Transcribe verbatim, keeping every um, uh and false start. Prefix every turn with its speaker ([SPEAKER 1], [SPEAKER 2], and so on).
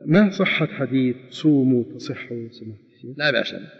[SPEAKER 1] ما صحة حديث صوموا تصحوا سمعت؟
[SPEAKER 2] لا بأس به.